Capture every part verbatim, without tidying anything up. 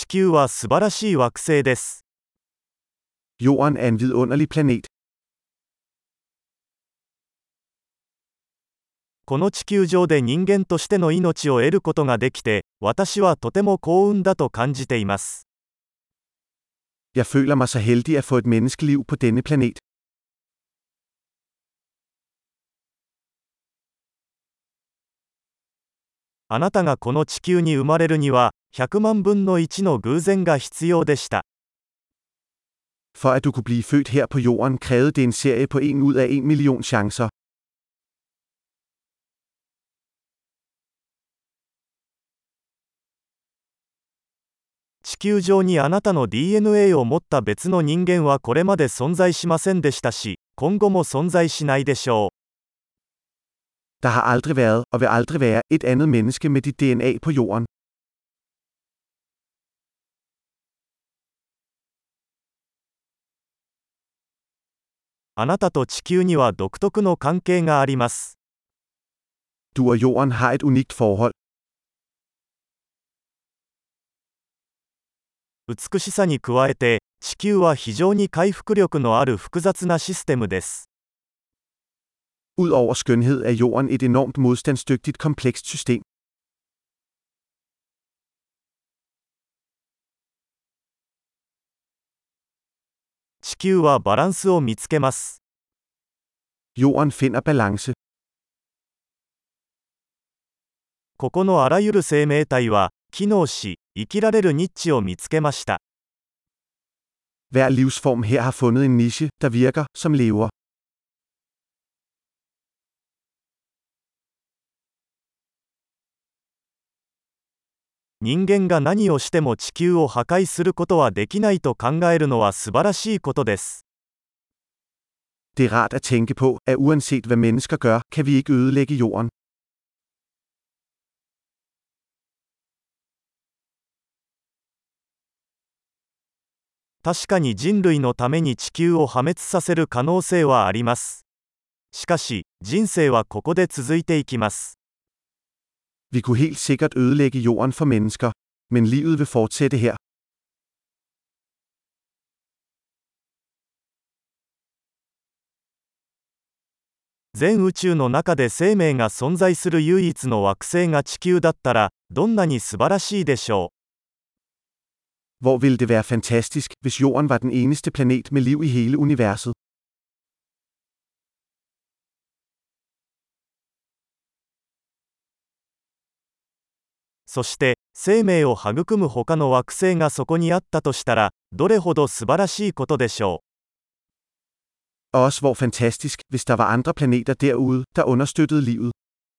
球は素晴らしい惑星です。 Jorden er en vidunderlig planet. この地球上で人間としての命を得ることができて、私はとても幸運だと感じています。 Jeg føler mig så heldig at få et menneskeliv på denne planet. あなたがこの地球に生まれるには、ひゃくまんぶんのいちの偶然が必要でした。 For at du kunne blive født her på jorden, krævede det en serie på en ud af en million chancer. 地球上にあなたの ディーエヌエー を持った別の人間はこれまで存在しませんでしたし、今後も存在しないでしょう。 Der har aldrig været, og vil aldrig være, et andet menneske med dit D N A på jorden. あなたと地球には独特の関係があります。 Du og jorden har et unikt forhold. 美しさに加えて、地球は非常に回復力のある複雑なシステムです。 Udover skønhed er jorden et enormt modstandsdygtigt komplekst system. 地球はバランスを見つけます。 Jorden finder balance. ここのあらゆる生命体は、機能し、生きられるニッチを見つけました。 Hver livsform her har fundet en niche, der virker, som lever. 人間が何をしても地球を破壊することはできないと考えるのは素晴らしいことです。 Det er rart at tænke på, at uanset hvad mennesker gør, kan vi ikke ødelægge jorden. 確かに人類のために地球を破滅させる可能性はあります。しかし、人生はここで続いていきます。 Vi kunne helt sikkert ødelægge jorden for mennesker, men livet vil fortsætte her. 全宇宙の中で生命が存在する唯一の惑星が地球だったら、どんなに素晴らしいでしょう。 Hvor ville det være fantastisk, hvis jorden var den eneste planet med liv i hele universet. そして、生命を育む他の惑星がそこにあったとしたら、どれほど素晴らしいことでしょう。 Og også hvor fantastisk, hvis der var andre planeter derude, der understøttede livet.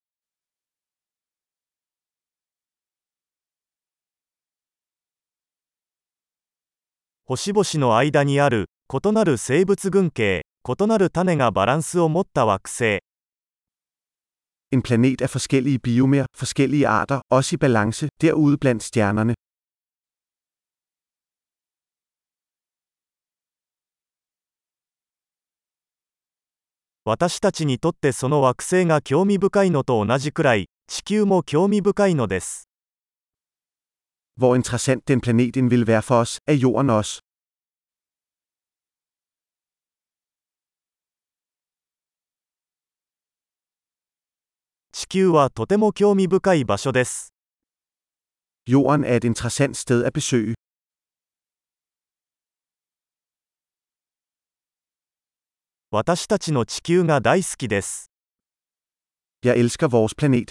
星々の間にある異なる生物群系、異なる種がバランスを持った惑星。 En planet af forskellige biomer, forskellige arter, også i balance, derude blandt stjernerne. 私たちにとってその惑星が興味深いのと同じくらい、地球も興味深いのです。 Hvor interessant den planet end vil være for os, er jorden også. 地球はとても興味深い場所です。 Jorden er et interessant sted at besøge. 私たちの地球が大好きです。 Jeg elsker vores planet.